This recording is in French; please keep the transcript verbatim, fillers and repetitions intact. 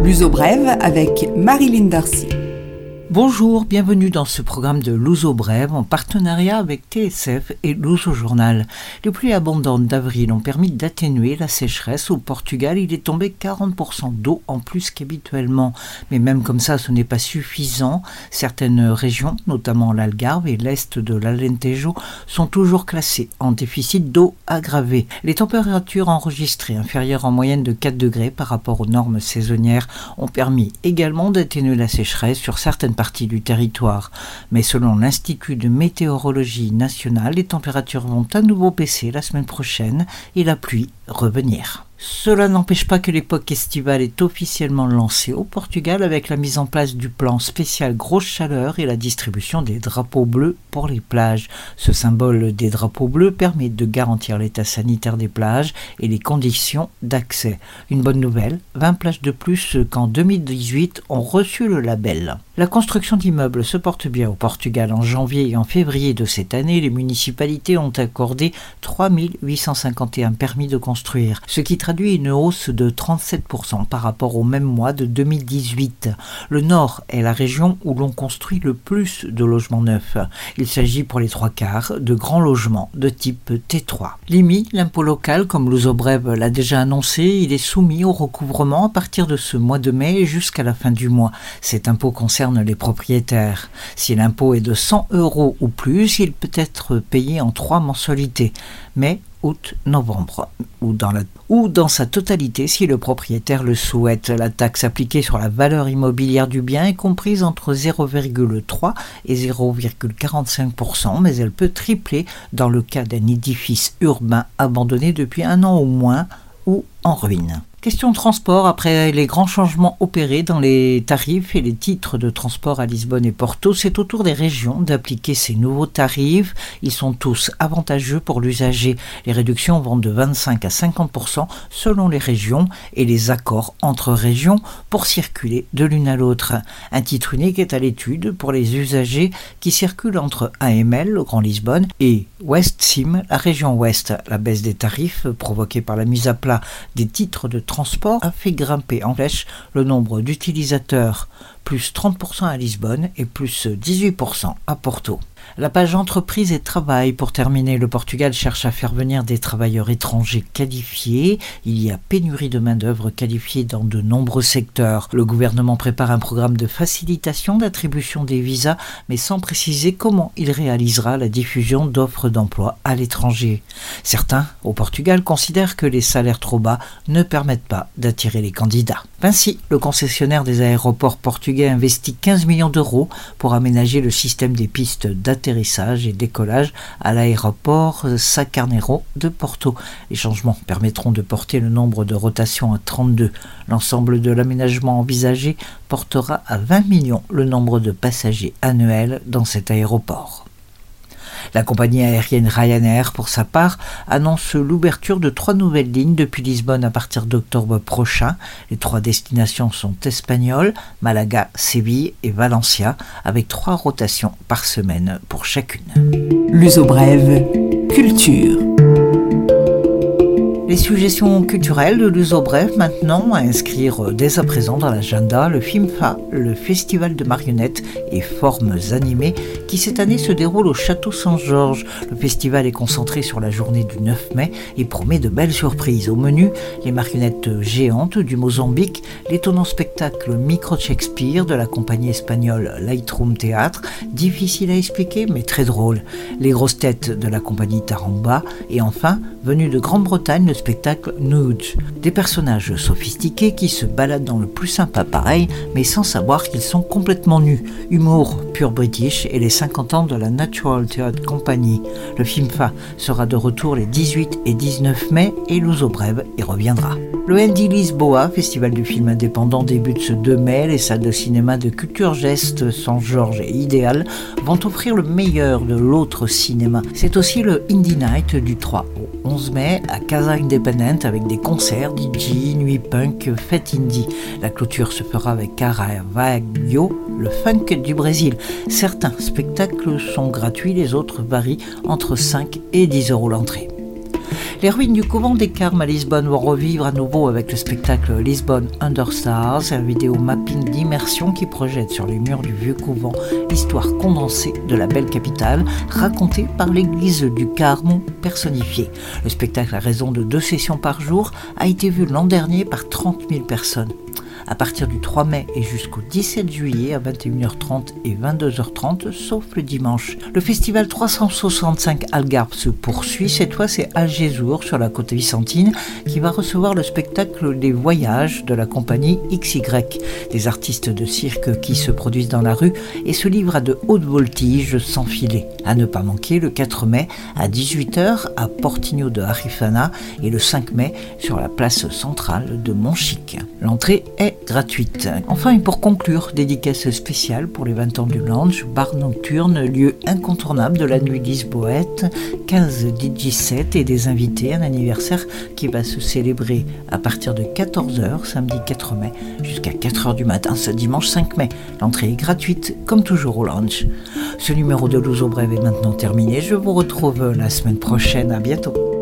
L'Uso Brève avec Marilyn Darcy. Bonjour, bienvenue dans ce programme de l'Uso Brève en partenariat avec T S F et l'Uso Journal. Les pluies abondantes d'avril ont permis d'atténuer la sécheresse. Au Portugal, il est tombé quarante pour cent d'eau en plus qu'habituellement. Mais même comme ça, ce n'est pas suffisant. Certaines régions, notamment l'Algarve et l'est de l'Alentejo, sont toujours classées en déficit d'eau aggravé. Les températures enregistrées inférieures en moyenne de quatre degrés par rapport aux normes saisonnières ont permis également d'atténuer la sécheresse sur certaines partie du territoire. Mais selon l'Institut de météorologie nationale, les températures vont à nouveau baisser la semaine prochaine et la pluie revenir. Cela n'empêche pas que l'époque estivale est officiellement lancée au Portugal avec la mise en place du plan spécial grosse chaleur et la distribution des drapeaux bleus pour les plages. Ce symbole des drapeaux bleus permet de garantir l'état sanitaire des plages et les conditions d'accès. Une bonne nouvelle, vingt plages de plus qu'en deux mille dix-huit ont reçu le label. La construction d'immeubles se porte bien au Portugal. En janvier et en février de cette année, les municipalités ont accordé trois mille huit cent cinquante et un permis de construire, ce qui traduit une hausse de trente-sept pour cent par rapport au même mois de deux mille dix-huit. Le Nord est la région où l'on construit le plus de logements neufs. Il s'agit pour les trois quarts de grands logements de type T trois. L'I M I, l'impôt local, comme l'Uso Brève l'a déjà annoncé, il est soumis au recouvrement à partir de ce mois de mai jusqu'à la fin du mois. Cet impôt concerne les propriétaires. Si l'impôt est de cent euros ou plus, il peut être payé en trois mensualités. Mais août, novembre, ou dans, la, ou dans sa totalité si le propriétaire le souhaite. La taxe appliquée sur la valeur immobilière du bien est comprise entre zéro virgule trois et zéro virgule quarante-cinq pour cent, mais elle peut tripler dans le cas d'un édifice urbain abandonné depuis un an ou moins ou en ruine. Question transport, après les grands changements opérés dans les tarifs et les titres de transport à Lisbonne et Porto, c'est au tour des régions d'appliquer ces nouveaux tarifs. Ils sont tous avantageux pour l'usager. Les réductions vont de vingt-cinq à cinquante pour cent selon les régions et les accords entre régions pour circuler de l'une à l'autre. Un titre unique est à l'étude pour les usagers qui circulent entre A M L, le Grand Lisbonne, et West Sim, la région ouest. La baisse des tarifs provoquée par la mise à plat des titres de transport a fait grimper en flèche le nombre d'utilisateurs, plus trente pour cent à Lisbonne et plus dix-huit pour cent à Porto. La page entreprise et travail, pour terminer, le Portugal cherche à faire venir des travailleurs étrangers qualifiés. Il y a pénurie de main-d'œuvre qualifiée dans de nombreux secteurs. Le gouvernement prépare un programme de facilitation d'attribution des visas, mais sans préciser comment il réalisera la diffusion d'offres d'emploi à l'étranger. Certains, au Portugal, considèrent que les salaires trop bas ne permettent pas d'attirer les candidats. Vinci, le concessionnaire des aéroports portugais, investit quinze millions d'euros pour aménager le système des pistes d'atterrissage et décollage à l'aéroport Sá Carneiro de Porto. Les changements permettront de porter le nombre de rotations à trente-deux. L'ensemble de l'aménagement envisagé portera à vingt millions le nombre de passagers annuels dans cet aéroport. La compagnie aérienne Ryanair, pour sa part, annonce l'ouverture de trois nouvelles lignes depuis Lisbonne à partir d'octobre prochain. Les trois destinations sont espagnoles, Malaga, Séville et Valencia, avec trois rotations par semaine pour chacune. L'Uso Brève, culture. Les suggestions culturelles de l'Uso Brève maintenant à inscrire dès à présent dans l'agenda, le FIMFA, le festival de marionnettes et formes animées qui cette année se déroule au Château Saint-Georges. Le festival est concentré sur la journée du neuf mai et promet de belles surprises. Au menu, les marionnettes géantes du Mozambique, l'étonnant spectacle Micro Shakespeare de la compagnie espagnole Lightroom Théâtre, difficile à expliquer mais très drôle, les grosses têtes de la compagnie Taramba et enfin, venu de Grande-Bretagne, le spectacle Nude. Des personnages sophistiqués qui se baladent dans le plus sympa pareil, mais sans savoir qu'ils sont complètement nus. Humour pur british et les cinquante ans de la Natural Theatre Company. Le FIMFA sera de retour les dix-huit et dix-neuf mai et l'Uso Brève y reviendra. Le N D Lisboa, festival du film indépendant, débute ce deux mai. Les salles de cinéma de Culture Geste, Saint-Georges et Idéal vont offrir le meilleur de l'autre cinéma. C'est aussi le Indie Night du trois au onze mai à Casa Independent avec des concerts, D J, nuit punk, fête indie. La clôture se fera avec Caravaggio, le funk du Brésil. Certains spectacles sont gratuits, les autres varient entre cinq et dix euros l'entrée. Les ruines du couvent des Carmes à Lisbonne vont revivre à nouveau avec le spectacle Lisbonne Under Stars, un vidéo mapping d'immersion qui projette sur les murs du vieux couvent l'histoire condensée de la belle capitale, racontée par l'église du Carme personnifiée. Le spectacle, à raison de deux sessions par jour, a été vu l'an dernier par trente mille personnes. À partir du trois mai et jusqu'au dix-sept juillet à vingt et une heures trente et vingt-deux heures trente, sauf le dimanche. Le festival trois cent soixante-cinq Algarve se poursuit. Cette fois, c'est Algesur, sur la côte vicentine, qui va recevoir le spectacle des voyages de la compagnie X Y. Des artistes de cirque qui se produisent dans la rue et se livrent à de hautes voltiges sans filet. À ne pas manquer le quatre mai à dix-huit heures à Portinho de Arifana et le cinq mai sur la place centrale de Montchique. L'entrée est gratuite. Enfin, et pour conclure, dédicace spéciale pour les vingt ans du Lounge, bar nocturne, lieu incontournable de la nuit lisboète, quinze D J sets et des invités, un anniversaire qui va se célébrer à partir de quatorze heures, samedi quatre mai, jusqu'à quatre heures du matin, ce dimanche cinq mai. L'entrée est gratuite, comme toujours au Lounge. Ce numéro de Luso Breve est maintenant terminé. Je vous retrouve la semaine prochaine. À bientôt.